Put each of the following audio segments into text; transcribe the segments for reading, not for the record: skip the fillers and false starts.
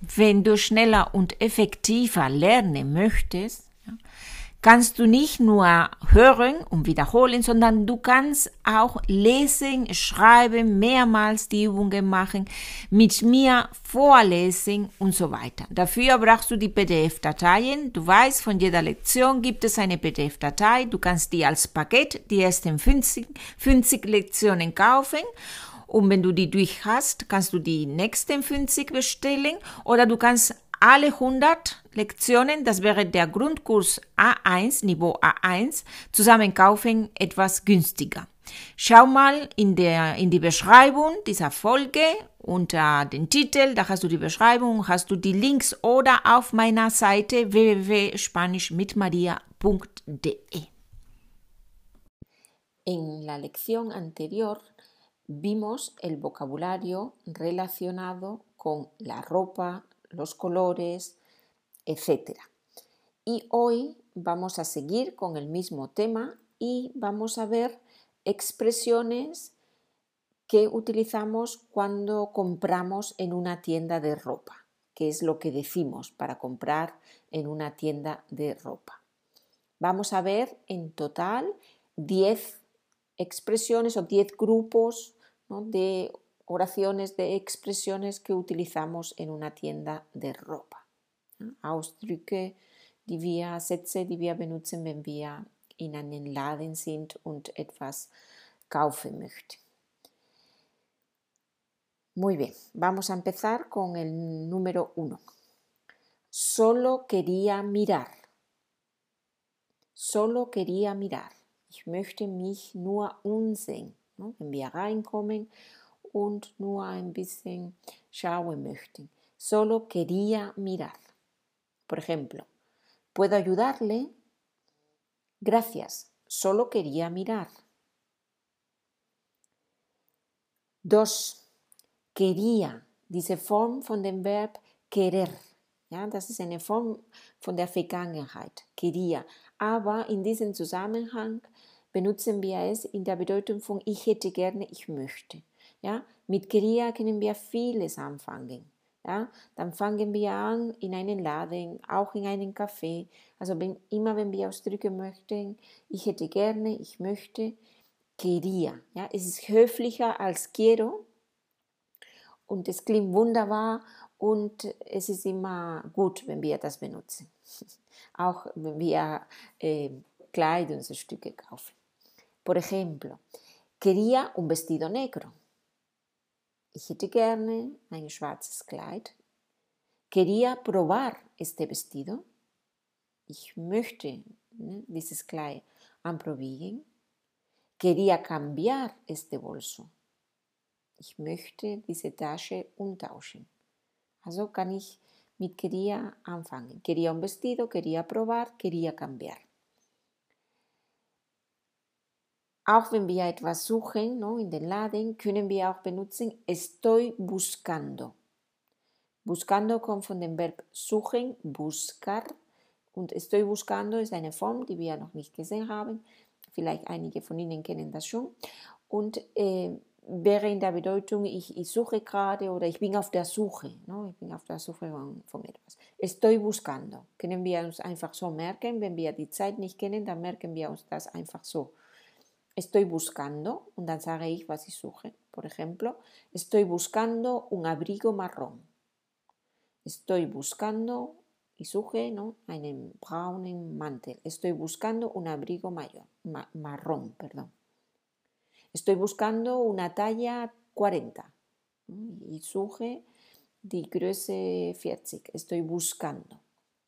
wenn du schneller und effektiver lernen möchtest, ja, kannst du nicht nur hören und wiederholen, sondern du kannst auch lesen, schreiben, mehrmals die Übungen machen, mit mir vorlesen und so weiter. Dafür brauchst du die PDF-Dateien. Du weißt, von jeder Lektion gibt es eine PDF-Datei. Du kannst die als Paket, die ersten 50 Lektionen kaufen. Und wenn du die durch hast, kannst du die nächsten 50 bestellen oder du kannst alle 100 Lektionen, das wäre der Grundkurs A1, Niveau A1, zusammen kaufen, etwas günstiger. Schau mal in die Beschreibung dieser Folge unter den Titel, da hast du die Beschreibung, hast du die Links oder auf meiner Seite www.spanischmitmaria.de. En la lección anterior vimos el vocabulario relacionado con la ropa, los colores, etc. Y hoy vamos a seguir con el mismo tema y vamos a ver expresiones que utilizamos cuando compramos en una tienda de ropa, que es lo que decimos para comprar en una tienda de ropa. Vamos a ver en total 10 expresiones o 10 grupos, ¿no?, de oraciones, de expresiones que utilizamos en una tienda de ropa. Ausdrücke, Sätze, die wir benutzen, wenn wir in einen Laden sind und etwas kaufen möchten. Muy bien, vamos a empezar con el número 1. Solo quería mirar. Solo quería mirar. Ich möchte mich nur umsehen, ne? Wenn wir reinkommen und nur ein bisschen schauen möchten. Solo quería mirar. Por ejemplo, ¿puedo ayudarle? Gracias, solo quería mirar. 2. Quería, diese Form von dem Verb querer. Ja, das ist eine Form von der Vergangenheit, quería. Aber in diesem Zusammenhang benutzen wir es in der Bedeutung von ich hätte gerne, ich möchte. Ja, mit quería können wir vieles anfangen. Ja, dann fangen wir an in einen Laden, auch in einen Café. Also immer wenn wir ausdrücken möchten, ich hätte gerne, ich möchte, quería. Ja, es ist höflicher als quiero und es klingt wunderbar und es ist immer gut, wenn wir das benutzen. Auch wenn wir Kleidungsstücke kaufen. Por ejemplo, quería un vestido negro. Ich hätte gerne ein schwarzes Kleid. Quería probar este vestido. Ich möchte dieses Kleid anprobieren. Quería cambiar este bolso. Ich möchte diese Tasche umtauschen. Also kann ich mit quería anfangen. Quería un vestido, quería probar, quería cambiar. Auch wenn wir etwas suchen, ¿no?, in den Laden, können wir auch benutzen estoy buscando. Buscando kommt von dem Verb suchen, buscar. Und estoy buscando ist eine Form, die wir noch nicht gesehen haben. Vielleicht einige von Ihnen kennen das schon. Und wäre in der Bedeutung, ich suche gerade oder ich bin auf der Suche. No? Ich bin auf der Suche von etwas. Estoy buscando. Können wir uns einfach so merken. Wenn wir die Zeit nicht kennen, dann merken wir uns das einfach so. Estoy buscando, und dann sage ich, was ich suche. Por ejemplo, estoy buscando un abrigo marrón. Estoy buscando, ich suche, ¿no?, einen braunen Mantel. Estoy buscando un abrigo marrón. Estoy buscando una talla 40. Ich suche die Größe 40. Estoy buscando.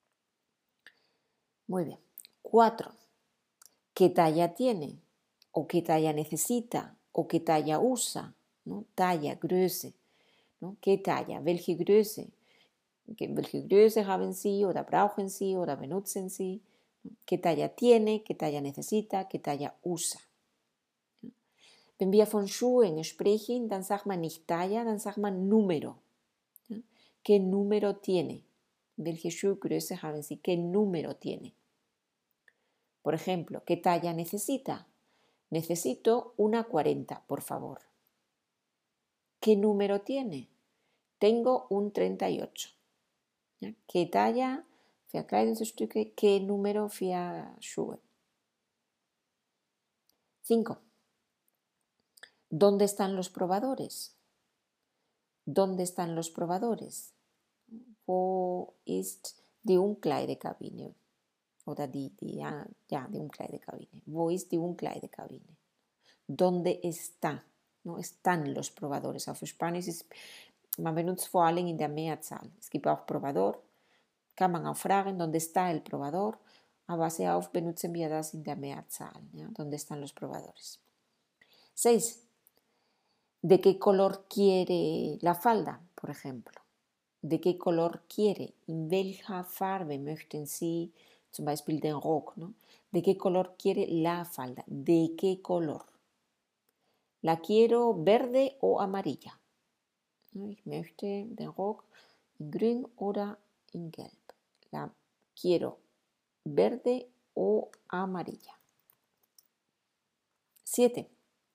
Muy bien. 4. ¿Qué talla tiene? O qué talla necesita, o qué talla usa, ¿no? Talla, Größe, ¿no? ¿Qué talla? Welche Größe? Welche Größe haben Sie oder brauchen Sie oder benutzen Sie? ¿Qué talla tiene? ¿Qué talla necesita? ¿Qué talla usa? Wenn wir von Schuhen sprechen, dann sagt man nicht Talla, dann sagt man Número. ¿Qué número tiene? Welche Schuhgröße haben Sie? ¿Qué número tiene? Por ejemplo, ¿qué talla necesita? Necesito una 40, por favor. ¿Qué número tiene? Tengo un 38. Ja? ¿Qué talla für Kleidungsstücke? ¿Qué número für Schuhe? 5. ¿Dónde están los probadores? ¿Dónde están los probadores? Wo ist die Umkleidekabine? Oder die Umkleidekabine. Wo ist die Umkleidekabine? ¿Dónde está? ¿No? Están los probadores. Auf Spanisch ist, man benutzt vor allem in der Mehrzahl. Es gibt auch Probador. Kann man auch fragen, ¿dónde está el probador? Aber sehr oft benutzen wir das in der Mehrzahl. ¿Ja? ¿Dónde están los probadores? 6. ¿De qué color quiere la falda, por ejemplo? ¿De qué color quiere? In welcher Farbe möchten Sie zum Beispiel den Rock? ¿No? ¿De qué color quiere la falda? ¿De qué color? ¿La quiero verde o amarilla? Ich möchte den Rock in grün oder in gelb. La quiero verde o amarilla. 7.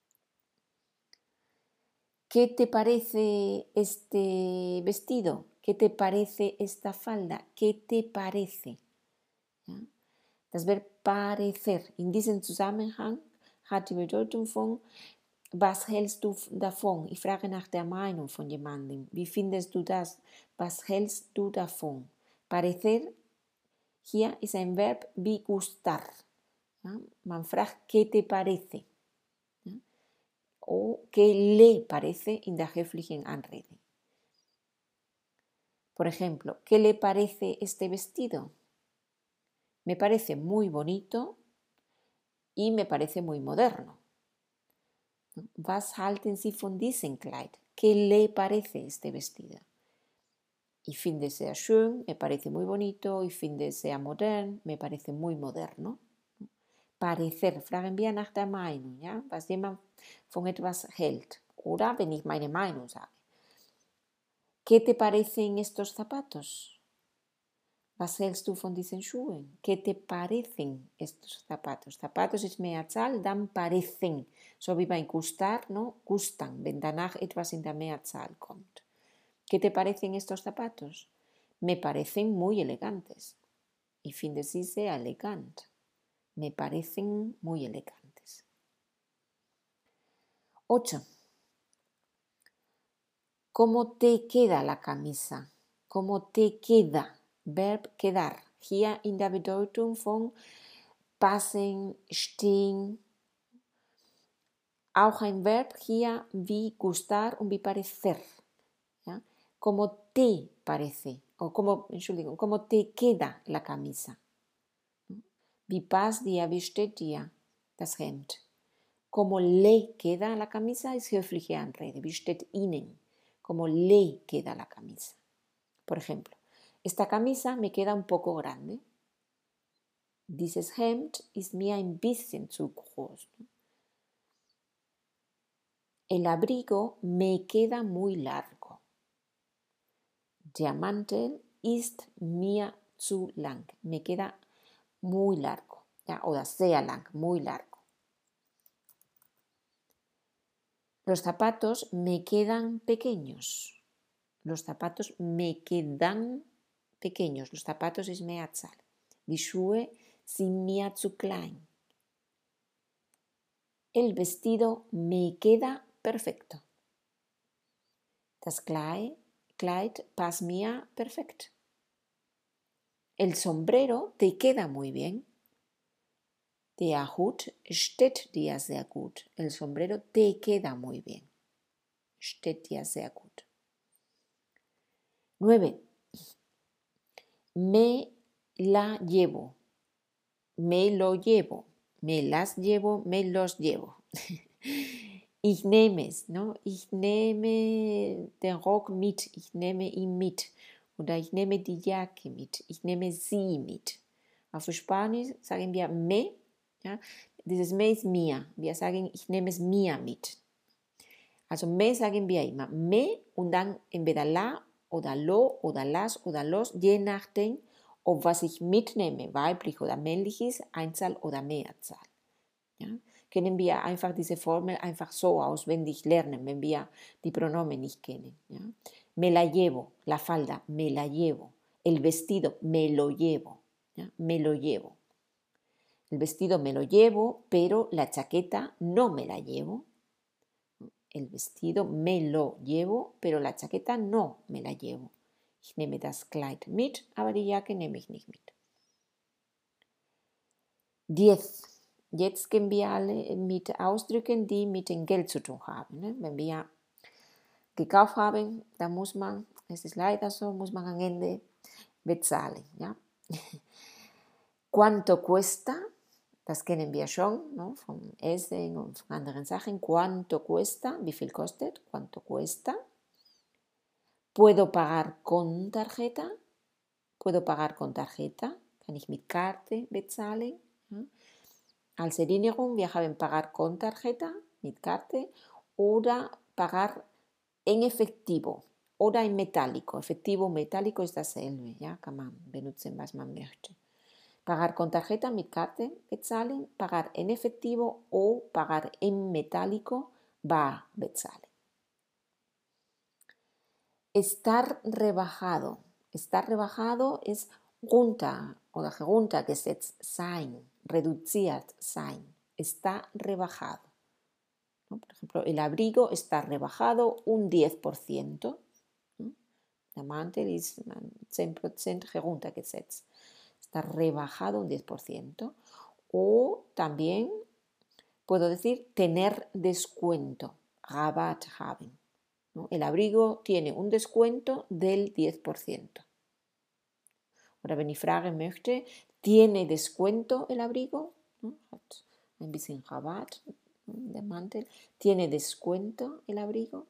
¿Qué te parece este vestido? ¿Qué te parece esta falda? ¿Qué te parece? Ja? Das Verb parecer in diesem Zusammenhang hat die Bedeutung von was hältst du davon? Ich frage nach der Meinung von jemandem. Wie findest du das? Was hältst du davon? Parecer hier ist ein Verb wie gustar. Ja? Man fragt, ¿qué te parece? Ja? O ¿qué le parece in der höflichen Anrede? Por ejemplo, ¿qué le parece este vestido? Me parece muy bonito y me parece muy moderno. Was halten Sie von diesem Kleid? ¿Qué le parece este vestido? Ich finde es sehr schön, me parece muy bonito. Ich finde es sehr modern, me parece muy moderno. Parecer, fragen wir nach der Meinung, ja? Was jemand von etwas hält. Oder wenn ich meine Meinung sage. ¿Qué te parecen estos zapatos? Was hältst du von diesen Schuhen? ¿Qué te parecen estos zapatos? Zapatos ist Mehrzahl, dann parecen. So wie beim gustar, ¿no? Gustan, wenn danach etwas in der Mehrzahl kommt. ¿Qué te parecen estos zapatos? Me parecen muy elegantes. Ich finde sie sehr elegant. Me parecen muy elegantes. 8. ¿Cómo te queda la camisa? ¿Cómo te queda? Verb quedar. Hier in der Bedeutung von passen, stehen. Auch ein Verb hier wie gustar und wie parecer. ¿Ja? ¿Cómo te parece? O ¿cómo te queda la camisa? Wie passt dir, wie steht dir das Hemd? ¿Cómo le queda la camisa? Es höfliche Anrede. Wie steht Ihnen? ¿Cómo le queda la camisa? Por ejemplo, esta camisa me queda un poco grande. Dieses Hemd ist mir ein bisschen zu groß. El abrigo me queda muy largo. Der Mantel ist mir zu lang. Me queda muy largo. Ja, oder sehr lang, muy largo. Los zapatos me quedan pequeños. Los zapatos me quedan pequeños. Los zapatos ist Mehrzahl. Die Schuhe sind mir zu klein. El vestido me queda perfecto. Das Kleid passt mir perfekt. El sombrero te queda muy bien. Der Hut steht dir sehr gut. El sombrero te queda muy bien. Steht dir sehr gut. 9. Me la llevo. Me lo llevo. Me las llevo, me los llevo. Ich nehme es, ¿no? Ich nehme den Rock mit. Ich nehme ihn mit. Oder ich nehme die Jacke mit. Ich nehme sie mit. Auf Spanisch sagen wir me. Ja? Dieses me ist mir. Wir sagen, ich nehme es mir mit. Also me sagen wir immer me und dann entweder la oder lo oder las oder los, je nachdem, ob was ich mitnehme, weiblich oder männlich ist, Einzahl oder Mehrzahl. Ja? Können wir einfach diese Formel einfach so auswendig lernen, wenn wir die Pronomen nicht kennen. Ja? Me la llevo, la falda, me la llevo. El vestido me lo llevo, ¿ya? Me lo llevo. El vestido me lo llevo, pero la chaqueta no me la llevo. El vestido me lo llevo, pero la chaqueta no me la llevo. Ich nehme das Kleid mit, aber die Jacke nehme ich nicht mit. 10. Jetzt gehen wir alle mit Ausdrücken, die mit dem Geld zu tun haben. Ne? Wenn wir gekauft haben, dann muss man, es ist leider so, muss man am Ende bezahlen. Ja? ¿Cuánto cuesta? Das kennen wir schon, ¿no? Vom Essen und von anderen Sachen. ¿Cuánto cuesta? Wie viel kostet? ¿Cuánto cuesta? ¿Puedo pagar con tarjeta? ¿Puedo pagar con tarjeta? Kann ich mit Karte bezahlen? ¿Ja? Als Erinnerung, wir haben pagar con tarjeta, mit Karte, oder pagar en efectivo oder en metálico. Efectivo und metálico ist dasselbe, ja? Kann man benutzen, was man möchte. Pagar con tarjeta, mit Karte bezahlen, pagar en efectivo o pagar en metálico, bar bezahlen. Estar rebajado. Estar rebajado ist runter oder heruntergesetzt sein, reduziert sein. Está rebajado. ¿No? Por ejemplo, el abrigo está rebajado un 10%. ¿No? Der Mantel ist 10% heruntergesetzt. Está rebajado un 10%. O también puedo decir tener descuento, Rabatt haben. ¿No? El abrigo tiene un descuento del 10%. Oder wenn ich fragen möchte, ¿tiene descuento el abrigo? ¿No? Hat ein bisschen Rabatt, der Mantel. ¿Tiene descuento el abrigo?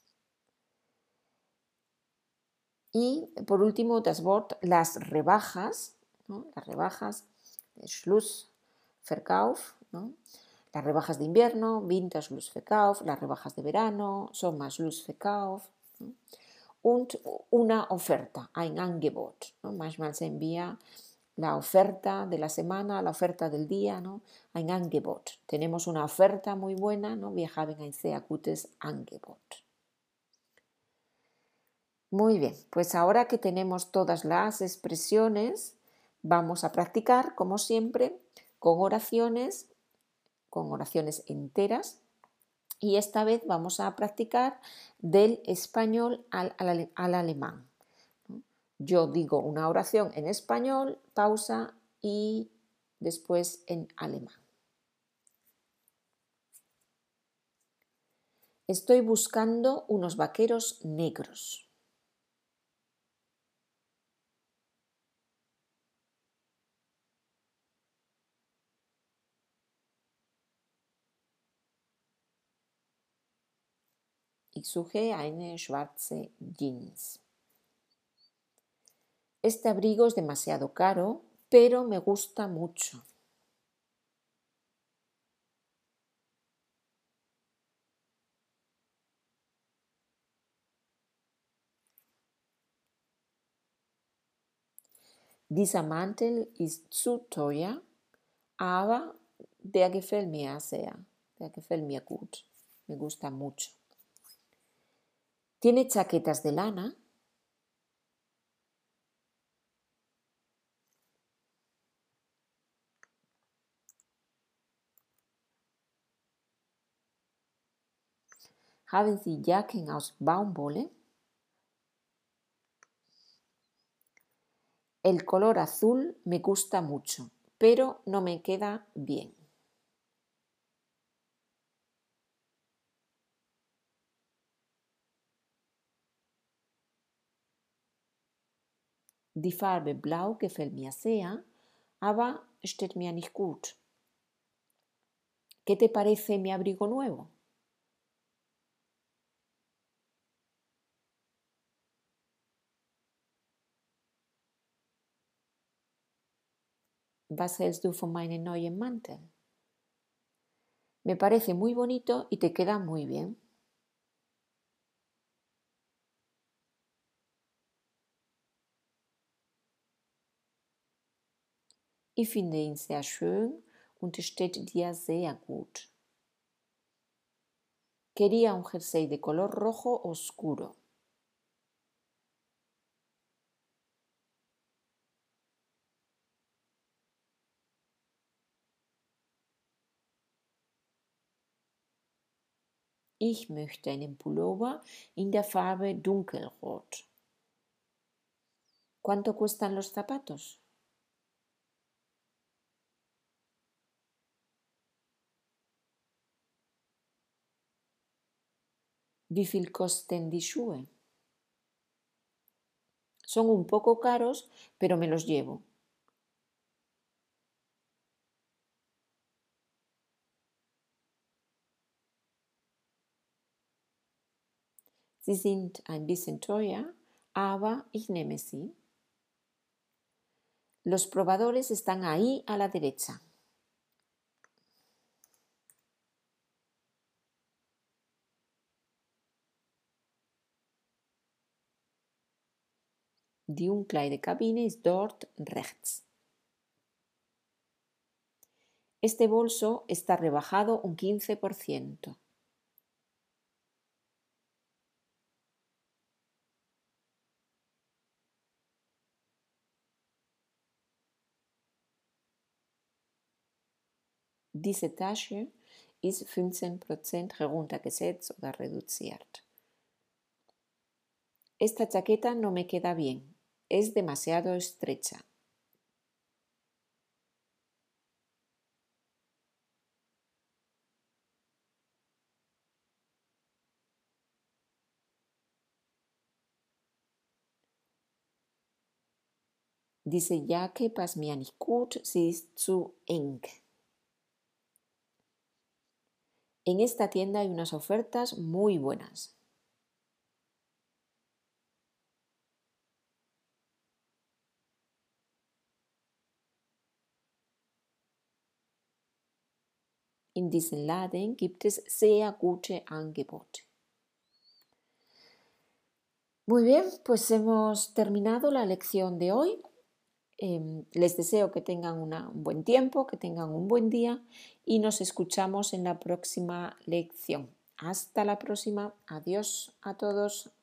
Y por último, das Wort, las rebajas, ¿no? Las rebajas, Schlussverkauf, ¿no? Las rebajas de invierno, Winterschlussverkauf, las rebajas de verano, Sommerschlussverkauf, ¿no? Und una oferta, ein Angebot, ¿no? Manchmal se envía la oferta de la semana, la oferta del día, ¿no? Ein Angebot. Tenemos una oferta muy buena, ¿no? Wir haben ein sehr gutes Angebot. Muy bien, pues ahora que tenemos todas las expresiones, vamos a practicar, como siempre, con oraciones enteras, y esta vez vamos a practicar del español al alemán. Yo digo una oración en español, pausa y después en alemán. Estoy buscando unos vaqueros negros. Ich suche eine schwarze Jeans. Este abrigo es demasiado caro, pero me gusta mucho. Dieser Mantel ist zu teuer, aber der gefällt mir sehr. Der gefällt mir gut. Me gusta mucho. ¿Tiene chaquetas de lana? ¿Haben Sie Jacken aus Baumwolle? El color azul me gusta mucho, pero no me queda bien. Die Farbe Blau gefällt mir sehr, aber steht mir nicht gut. ¿Qué te parece mi abrigo nuevo? Was hältst du von meinem neuen Mantel? Me parece muy bonito y te queda muy bien. Ich finde ihn sehr schön und es steht dir sehr gut. Quería un jersey de color rojo oscuro. Ich möchte einen Pullover in der Farbe dunkelrot. ¿Cuánto cuestan los zapatos? Wie viel kosten die Schuhe? Son un poco caros, pero me los llevo. Sie sind ein bisschen teuer, aber ich nehme sie. Los probadores están ahí a la derecha. Die Umkleidekabine ist dort rechts. Este bolso está rebajado un 15%. Diese Tasche ist 15% heruntergesetzt oder reduziert. Esta chaqueta no me queda bien, es demasiado estrecha. Diese Jacke passt mir nicht gut, sie ist zu eng. En esta tienda hay unas ofertas muy buenas. In diesem Laden gibt es sehr gute Angebote. Muy bien, pues hemos terminado la lección de hoy. Les deseo que tengan un buen tiempo, que tengan un buen día y nos escuchamos en la próxima lección. Hasta la próxima. Adiós a todos.